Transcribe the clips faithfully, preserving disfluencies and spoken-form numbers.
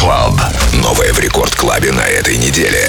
Club. Новое в Рекорд Клабе на этой неделе.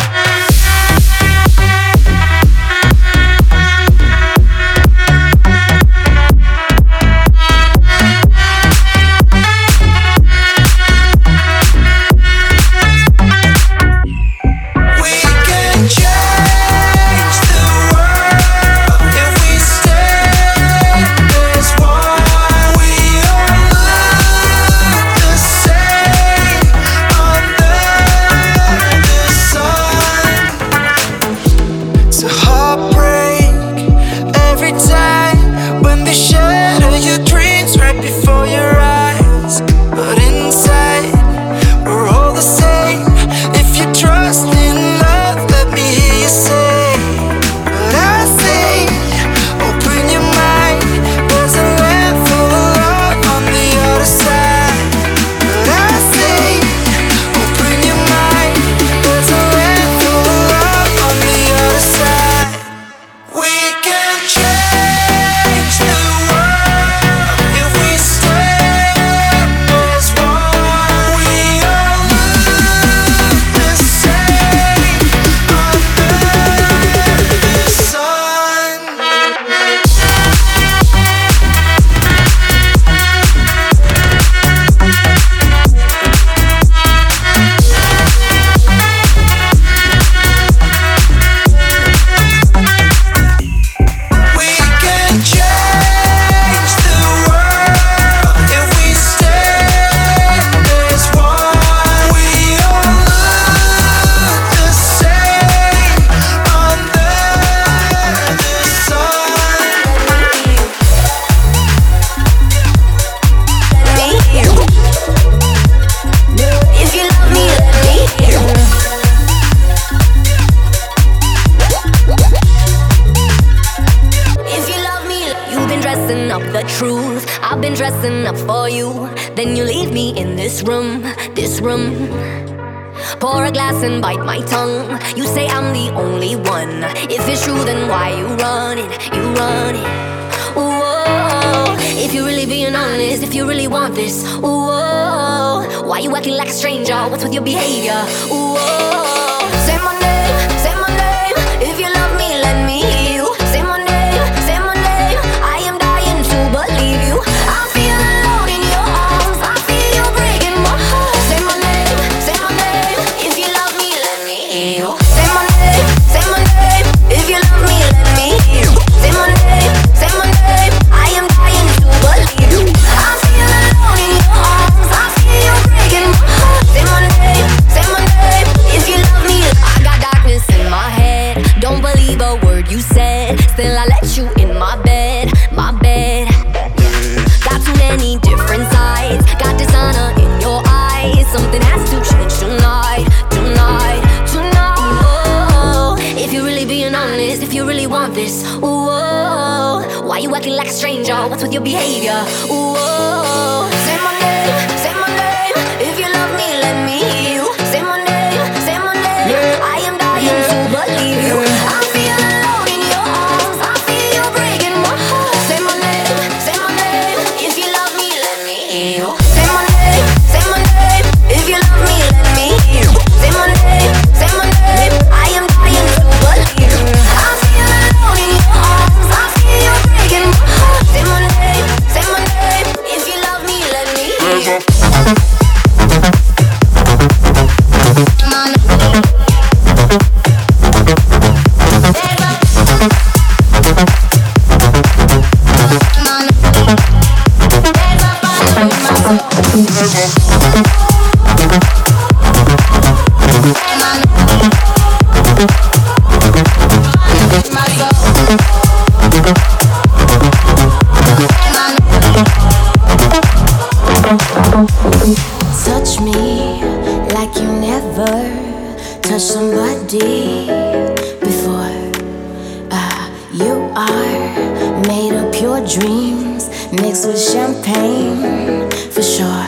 Pour a glass and bite my tongue. You say I'm the only one. If it's true, then why you running? You running? Whoa. If you're really being honest, if you really want this, whoa. Why you acting like a stranger? What's with your behavior? Whoa. Say my name, say my name. If you love me, let me hear you. Say my name, say my name. I am dying to believe you. I feel alone in your arms. I feel you breaking my heart. Say my name, say my name. If you love me, let me hear you. Say my name, say my name. If you love me, let me hear you. Say my name, say my name. I am dying to believe you. I feel alone in your arms. I feel you breaking my heart. Say my name, say my name. If you love me, I got darkness in my head. Don't believe a word you said. Still I let you in my bed, my bed. Got too many different sides. Got dishonor in your eyes. Something has to change tonight, tonight, tonight. Whoa. If you're really being honest, if you really want this, whoa. Why you acting like a stranger? What's with your behavior? Whoa. Say my name, say my name. If you love me, let me hear you. Say my name, say my name. Yeah. I am dying yeah. to believe you. Yeah. I feel alone in your arms. I feel you breaking my heart. Say my name, say my name. If you love me, let me hear you. Say my name, say my name. If you love me, let me hear you. Say my name, say my name. I am dying to believe you. I feel alone in your arms. I feel you breaking my heart. Say my name, say my name. If you love me, let me hear you. Touch me like you never touched somebody before. Uh, you are made of pure dreams mixed with champagne for sure.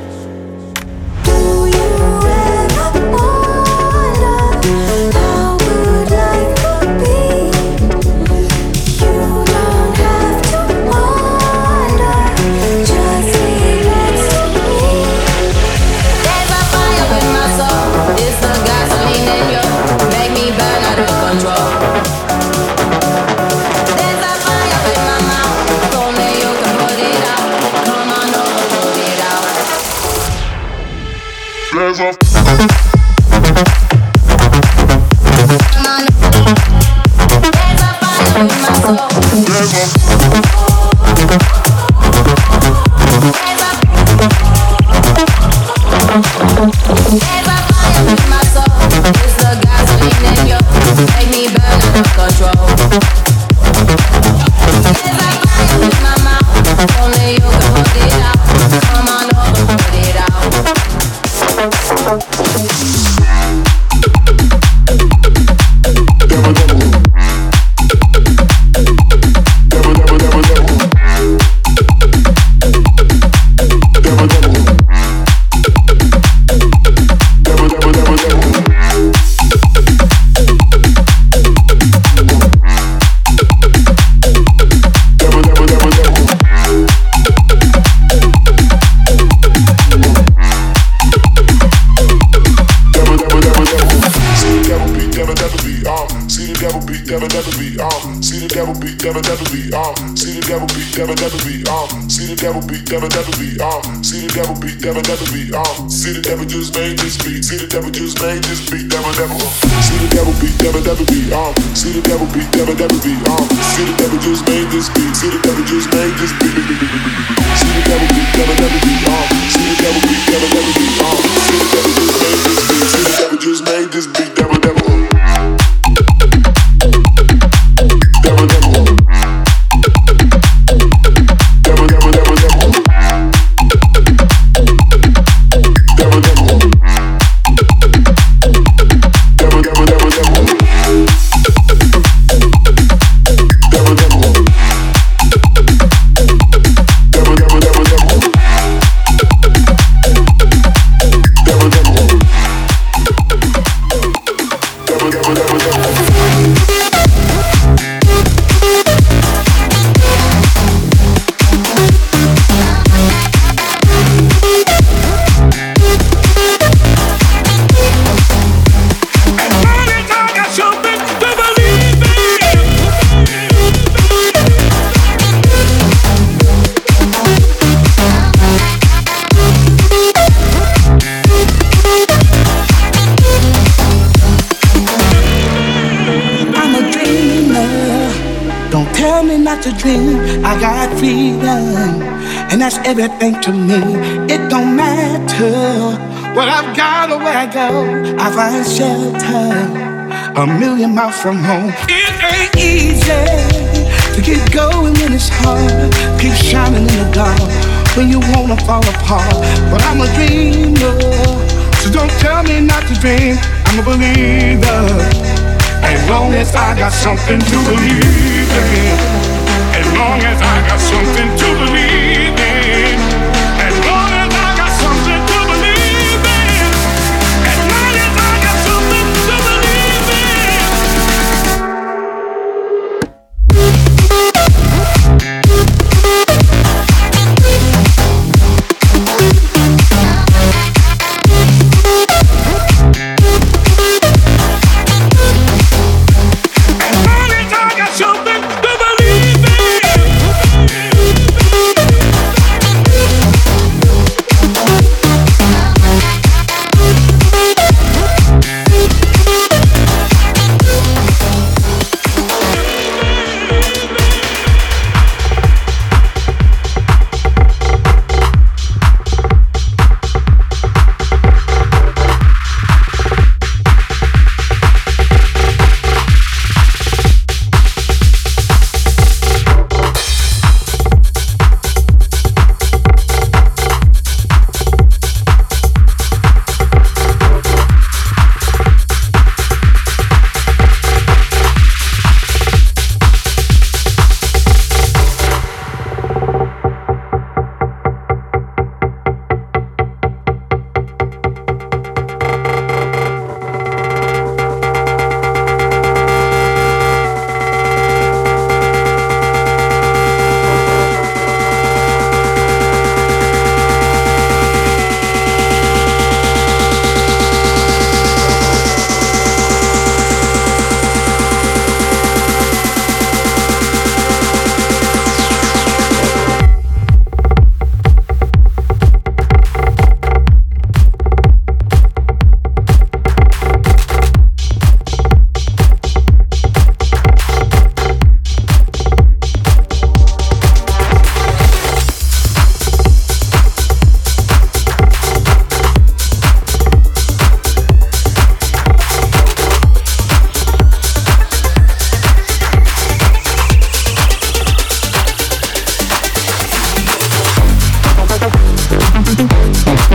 Do you ever wonder how good life could be? You don't have to wonder, just be next to me. There's a hands off. Never, never be, um, see the devil beat, never, never be, um, see the devil just made this beat, see the devil just made this beat, never, never, see the devil beat, never, never be, um, see the devil beat, never, never be, um, see the devil just made this beat, see the devil just made this beat, see the devil beat, never, never be, um, see the devil beat, never, never be, um, see the devil just made this beat, see the devil just made this beat, never, never. To dream, I got freedom, and that's everything to me. It don't matter what I've got or where I go, I find shelter a million miles from home. It ain't easy to keep going when it's hard, keep shining in the dark when you wanna fall apart. But I'm a dreamer, so don't tell me not to dream. I'm a believer, as long as I got something to believe in. As long as I got something to believe in. As long as I got something to believe in. As long as I got something to believe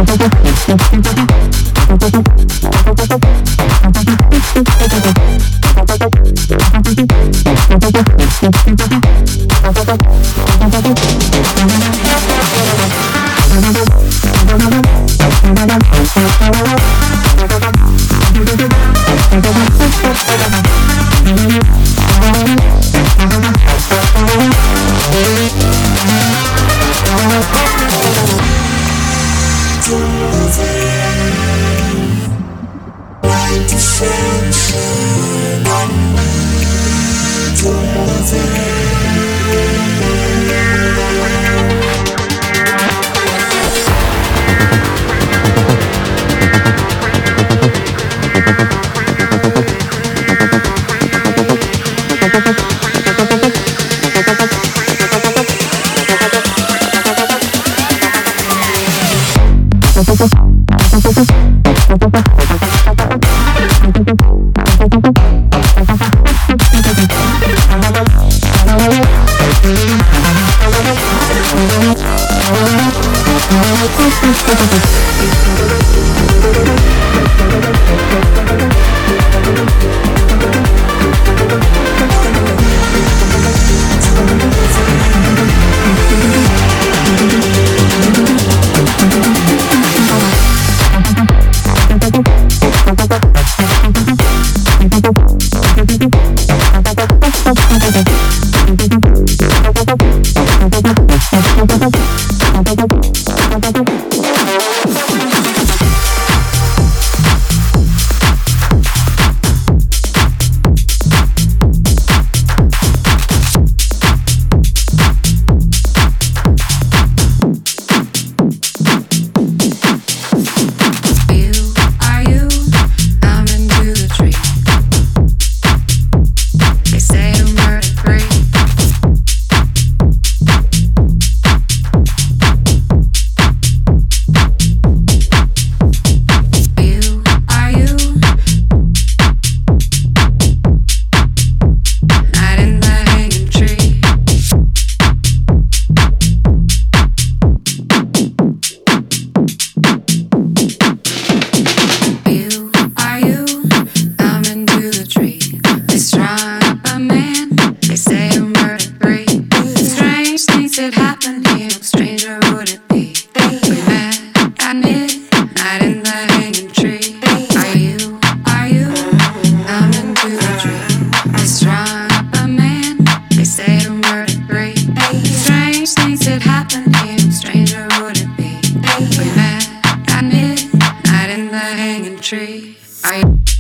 Tree. I